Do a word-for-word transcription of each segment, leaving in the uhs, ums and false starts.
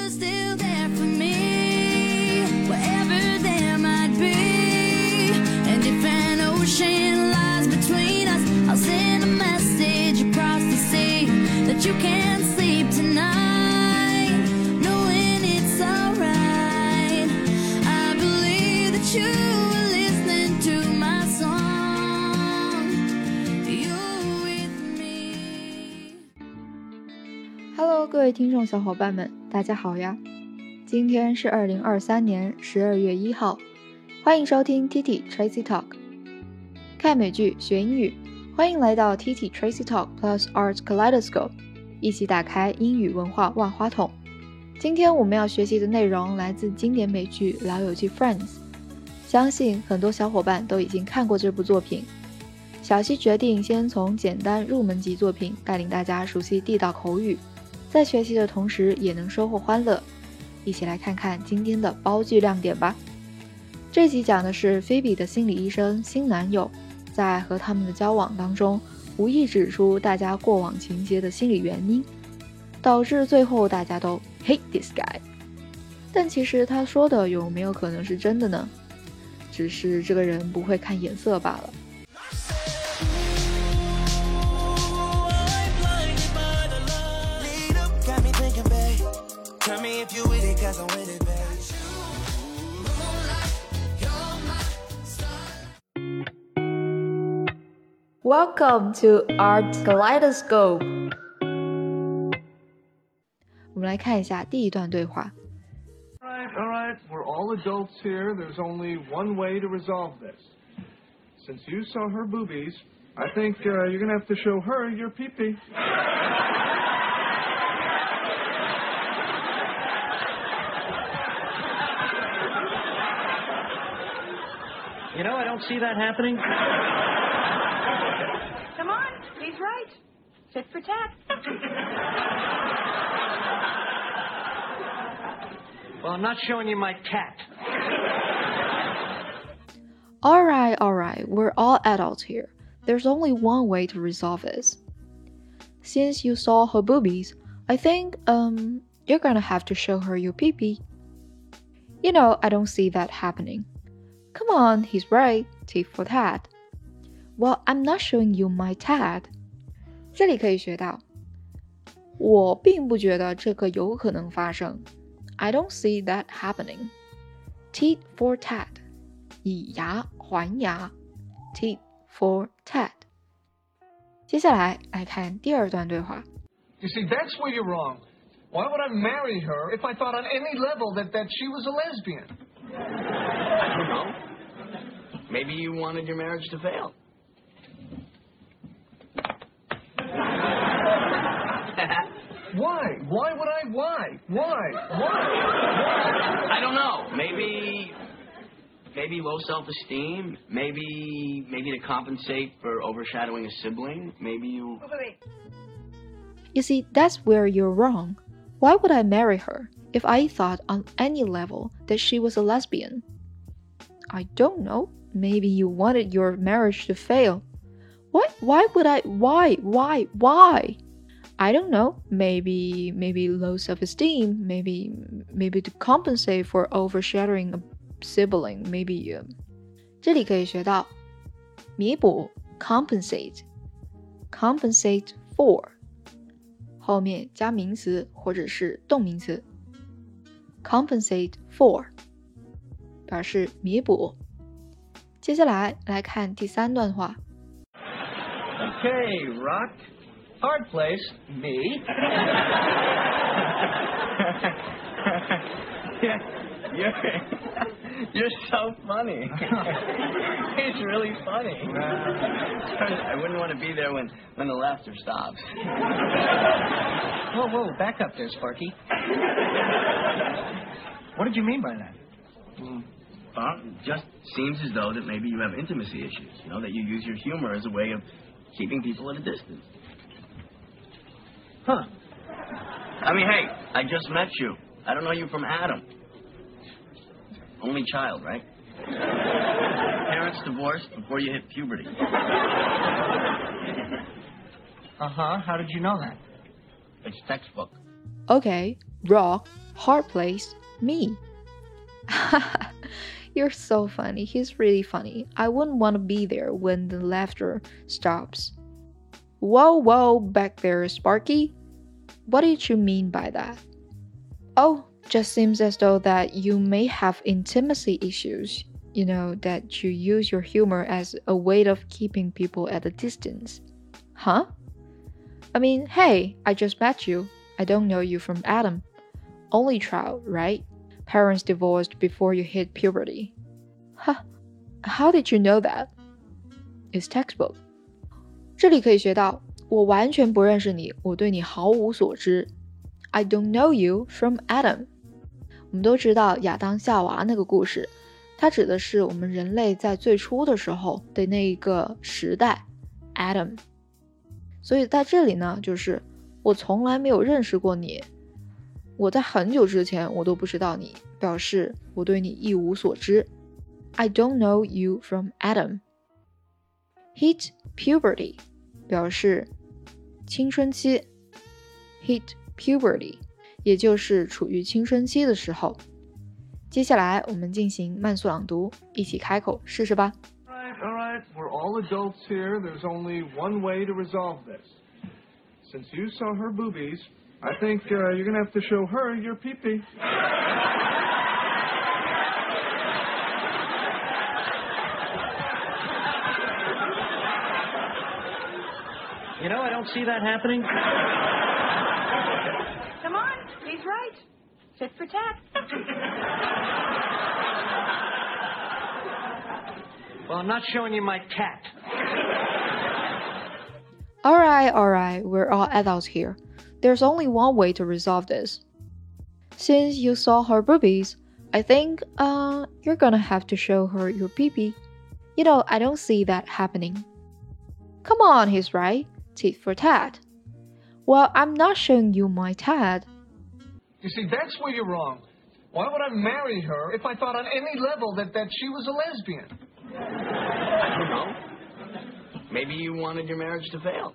you're still there for me, wherever there might be. And if an ocean lies between us, I'll send a message across the sea that you can't sleep tonight, knowing it's alright. I believe that you were listening to my song. You're with me. Hello， 各位听众小伙伴们，大家好呀！今天是二零二三年十二月一号，欢迎收听 Titi Tracy Talk。看美剧学英语，欢迎来到 Titi Tracy Talk Plus Art Kaleidoscope， 一起打开英语文化万花筒。今天我们要学习的内容来自经典美剧《老友记 Friends》，相信很多小伙伴都已经看过这部作品。小溪决定先从简单入门级作品带领大家熟悉地道口语，在学习的同时也能收获欢乐。一起来看看今天的包句亮点吧。这集讲的是菲比的心理医生新男友在和他们的交往当中无意指出大家过往情节的心理原因，导致最后大家都 hate this guy。 但其实他说的有没有可能是真的呢？只是这个人不会看眼色罢了。Welcome to Art Kaleidoscope。 我们来看一下第一段对话。 Alright, alright, we're all adults here. There's only one way to resolve this. Since you saw her boobies, I think uh, you're gonna have to show her your pee-pee. You know, I don't see that happening. Come on, he's right. Tit for tat. Well, I'm not showing you my cat. Alright, alright, we're all adults here. There's only one way to resolve this. Since you saw her boobies, I think, um, you're gonna have to show her your pee-pee. You know, I don't see that happening. Come on, he's right. Tit for tat. Well, I'm not showing you my tat. 这里可以学到，我并不觉得这个有可能发生。I don't see that happening. Tit for tat. 以牙还牙。Tit for tat. 接下来来看第二段对话。 You see, that's where you're wrong. Why would I marry her if I thought on any level that, that she was a lesbian? I don't know. Maybe you wanted your marriage to fail. Why? Why would I? Why? Why? Why? I don't know. Maybe, maybe low self-esteem. Maybe, maybe to compensate for overshadowing a sibling. Maybe you. Wait, wait, wait. You see, that's where you're wrong. Why would I marry her if I thought on any level that she was a lesbian? I don't know. Maybe you wanted your marriage to fail. Why? Why would I? Why? Why? Why? I don't know. Maybe, maybe low self-esteem. Maybe, maybe to compensate for overshadowing a sibling. Maybe. Uh... 这里可以学到弥补 compensate, compensate for 后面加名词或者是动名词 compensate for 表示弥补。接下来来看第三段话。 Okay, Rock. Hard place. Me. You're, you're so funny. It's really funny. I wouldn't want to be there when, when the laughter stops. Whoa, whoa, back up there, Sparky. What did you mean by that? Mm. Well, it just seems as though that maybe you have intimacy issues, you know, that you use your humor as a way of keeping people at a distance. Huh. I mean, hey, I just met you. I don't know you from Adam. Only child, right? Parents divorced before you hit puberty. Uh-huh. How did you know that? It's textbook. Okay, Rock, Hard place, me. You're so funny. He's really funny. I wouldn't want to be there when the laughter stops. Whoa, whoa, back there, Sparky. What did you mean by that? Oh, just seems as though that you may have intimacy issues. You know, that you use your humor as a way of keeping people at a distance. Huh? I mean, hey, I just met you. I don't know you from Adam. Only child, right? Parents divorced before you hit puberty. Huh? How did you know that? It's textbook. 这里可以学到，我完全不认识你，我对你毫无所知。I don't know you from Adam. 我们都知道亚当夏娃那个故事，它指的是我们人类在最初的时候的那一个时代 Adam。 所以在这里呢，就是我从来没有认识过你，我在很久之前我都不知道你，表示我对你一无所知。 I don't know you from Adam. Hit puberty 表示青春期， Hit puberty 也就是处于青春期的时候。接下来我们进行慢速朗读，一起开口试试吧。 All right, all right, we're all adults here. There's only one way to resolve this. Since you saw her boobies, I think uh, you're gonna have to show her your pee-pee. You know, I don't see that happening. Come on, he's right. Sit for tat. Well, I'm not showing you my cat. Alright, alright, we're all adults here. There's only one way to resolve this. Since you saw her boobies, I think uh, you're gonna have to show her your pee-pee. You know, I don't see that happening. Come on, he's right. Tit for tat. Well, I'm not showing you my tat. You see, that's where you're wrong. Why would I marry her if I thought on any level that, that she was a lesbian? I don't know. Maybe you wanted your marriage to fail.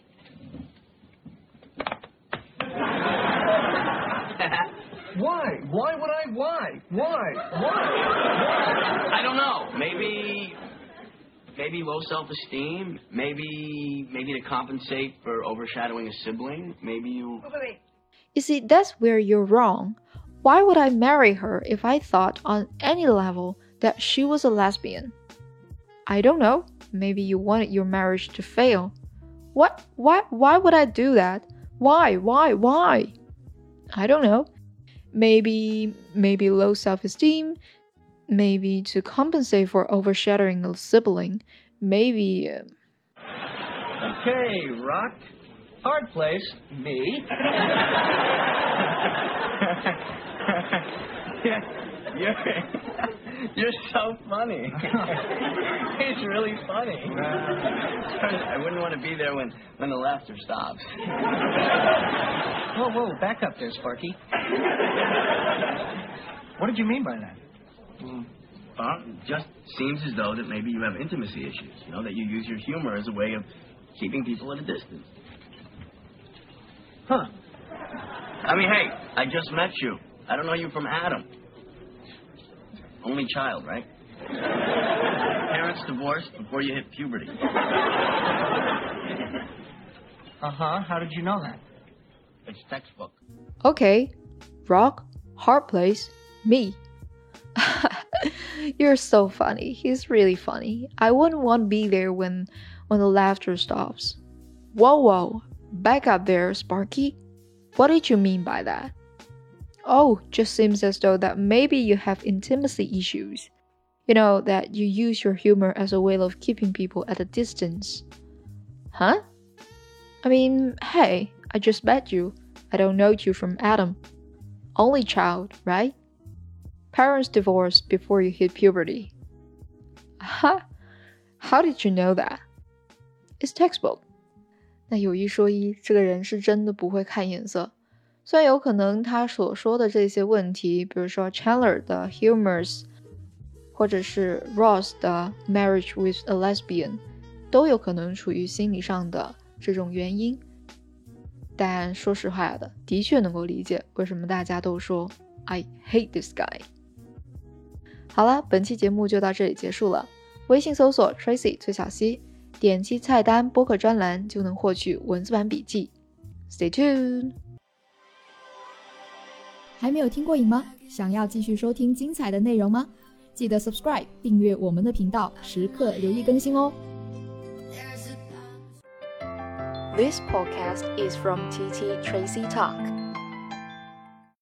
Why? Why would I? Why? Why? Why? I don't know. Maybe, maybe low self-esteem. Maybe, maybe to compensate for overshadowing a sibling. Maybe you. Wait, wait, wait. You see, that's where you're wrong. Why would I marry her if I thought on any level that she was a lesbian? I don't know. Maybe you wanted your marriage to fail. What? Why? Why would I do that? Why? Why? Why? I don't know. Maybe, maybe low self-esteem. Maybe to compensate for overshadowing a sibling. Maybe. Uh... Okay, Rock. Hard place, me. You're, you're so funny. It's really funny. I wouldn't want to be there when, when the laughter stops. Whoa, whoa, back up there, Sparky. What did you mean by that? Well, it just seems as though that maybe you have intimacy issues, you know, that you use your humor as a way of keeping people at a distance. Huh. I mean, hey, I just met you. I don't know you from Adam. Only child, right? Parents divorced before you hit puberty. Uh-huh. How did you know that? It's textbook. Okay. Rock, hard place, me. You're so funny. He's really funny. I wouldn't want to be there when, when the laughter stops. Whoa, whoa. Back up there, Sparky. What did you mean by that? Oh, just seems as though that maybe you have intimacy issues. You know, that you use your humor as a way of keeping people at a distance. Huh? I mean, hey, I just met you. I don't know you from Adam. Only child, right? Parents divorced before you hit puberty. Huh? How did you know that? It's textbook. 那有一说一，这个人是真的不会看眼色。虽然有可能他所说的这些问题，比如说 Chandler 的 humors， 或者是 Ross 的 marriage with a lesbian， 都有可能处于心理上的这种原因。 但说实话的，的确能够理解为什么大家都说 I hate this guy。 好了，本期节目就到这里结束了。微信搜索 Tracy 崔小溪，点击菜单播客专栏就能获取文字版笔记。 Stay tuned。 还没有听过瘾吗？想要继续收听精彩的内容吗？记得 subscribe 订阅我们的频道，时刻留意更新哦。 This podcast is from T T Tracy Talk.